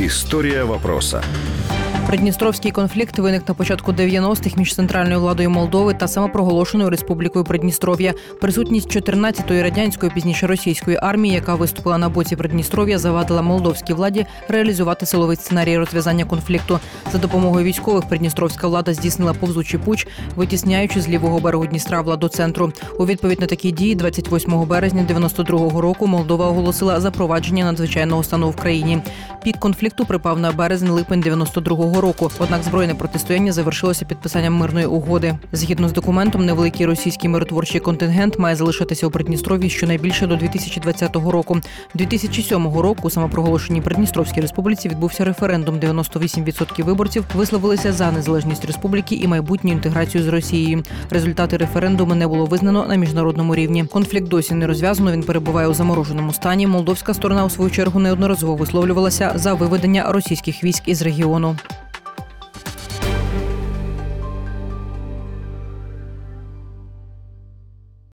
История вопроса. Придністровський конфлікт виник на початку 90-х між центральною владою Молдови та самопроголошеною Республікою Придністров'я. Присутність 14-ї радянської, пізніше російської армії, яка виступила на боці Придністров'я, завадила молдовській владі реалізувати силовий сценарій розв'язання конфлікту. За допомогою військових придністровська влада здійснила повзучий путч, витісняючи з лівого берегу Дністра владу центру. У відповідь на такі дії 28 березня 92-го року Молдова оголосила запровадження надзвичайного стану в країні. Пік конфлікту припав на березень-липень 92-го року. Однак збройне протистояння завершилося підписанням мирної угоди. Згідно з документом, невеликий російський миротворчий контингент має залишитися у Придністров'ї щонайбільше до 2020 року. 2007 року у самопроголошеній Придністровській республіці відбувся референдум. 98% виборців висловилися за незалежність республіки і майбутню інтеграцію з Росією. Результати референдуму не було визнано на міжнародному рівні. Конфлікт досі не розв'язано, він перебуває у замороженому стані. Молдовська сторона у свою чергу неодноразово висловлювалася за виведення російських військ із регіону.